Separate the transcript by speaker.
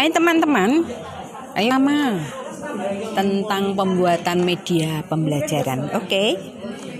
Speaker 1: Hai teman-teman, ayo Mama tentang pembuatan media pembelajaran. Oke.